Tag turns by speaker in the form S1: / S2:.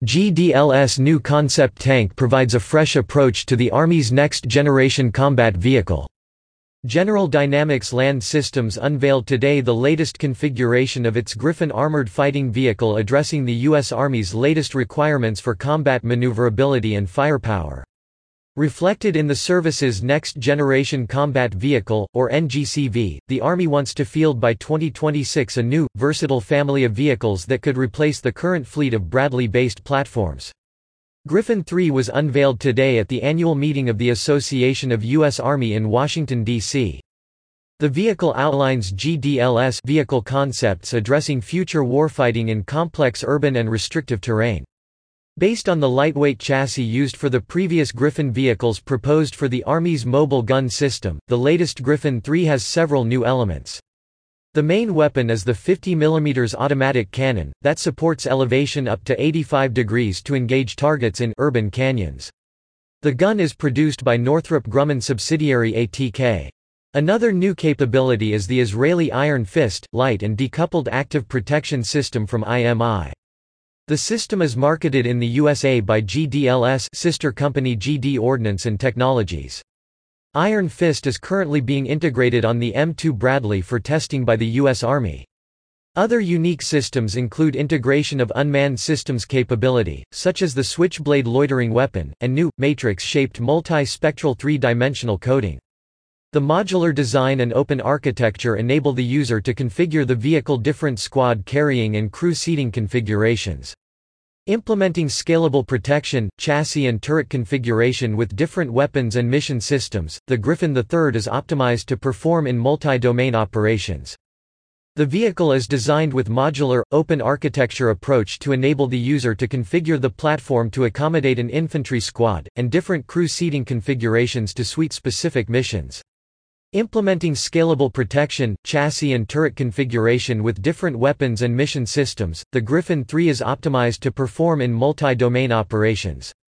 S1: GDLS new concept tank provides a fresh approach to the Army's next-generation combat vehicle. General Dynamics Land Systems unveiled today the latest configuration of its Griffin armored fighting vehicle addressing the U.S. Army's latest requirements for combat maneuverability and firepower. Reflected in the service's Next Generation Combat Vehicle, or NGCV, the Army wants to field by 2026 a new, versatile family of vehicles that could replace the current fleet of Bradley-based platforms. Griffin 3 was unveiled today at the annual meeting of the Association of U.S. Army in Washington, D.C. The vehicle outlines GDLS vehicle concepts addressing future warfighting in complex urban and restrictive terrain. Based on the lightweight chassis used for the previous Griffin vehicles proposed for the Army's mobile gun system, the latest Griffin 3 has several new elements. The main weapon is the 50 mm automatic cannon, that supports elevation up to 85 degrees to engage targets in urban canyons. The gun is produced by Northrop Grumman subsidiary ATK. Another new capability is the Israeli Iron Fist, light and decoupled active protection system from IMI. The system is marketed in the USA by GDLS sister company GD Ordnance and Technologies. Iron Fist is currently being integrated on the M2 Bradley for testing by the U.S. Army. Other unique systems include integration of unmanned systems capability, such as the Switchblade loitering weapon, and new, matrix-shaped multi-spectral three-dimensional coding. The modular design and open architecture enable the user to configure the vehicle different squad carrying and crew seating configurations. Implementing scalable protection, chassis and turret configuration with different weapons and mission systems, the Griffin III is optimized to perform in multi-domain operations. The vehicle is designed with modular, open architecture approach to enable the user to configure the platform to accommodate an infantry squad, and different crew seating configurations to suit specific missions. Implementing scalable protection, chassis and turret configuration with different weapons and mission systems, the Griffin III is optimized to perform in multi-domain operations.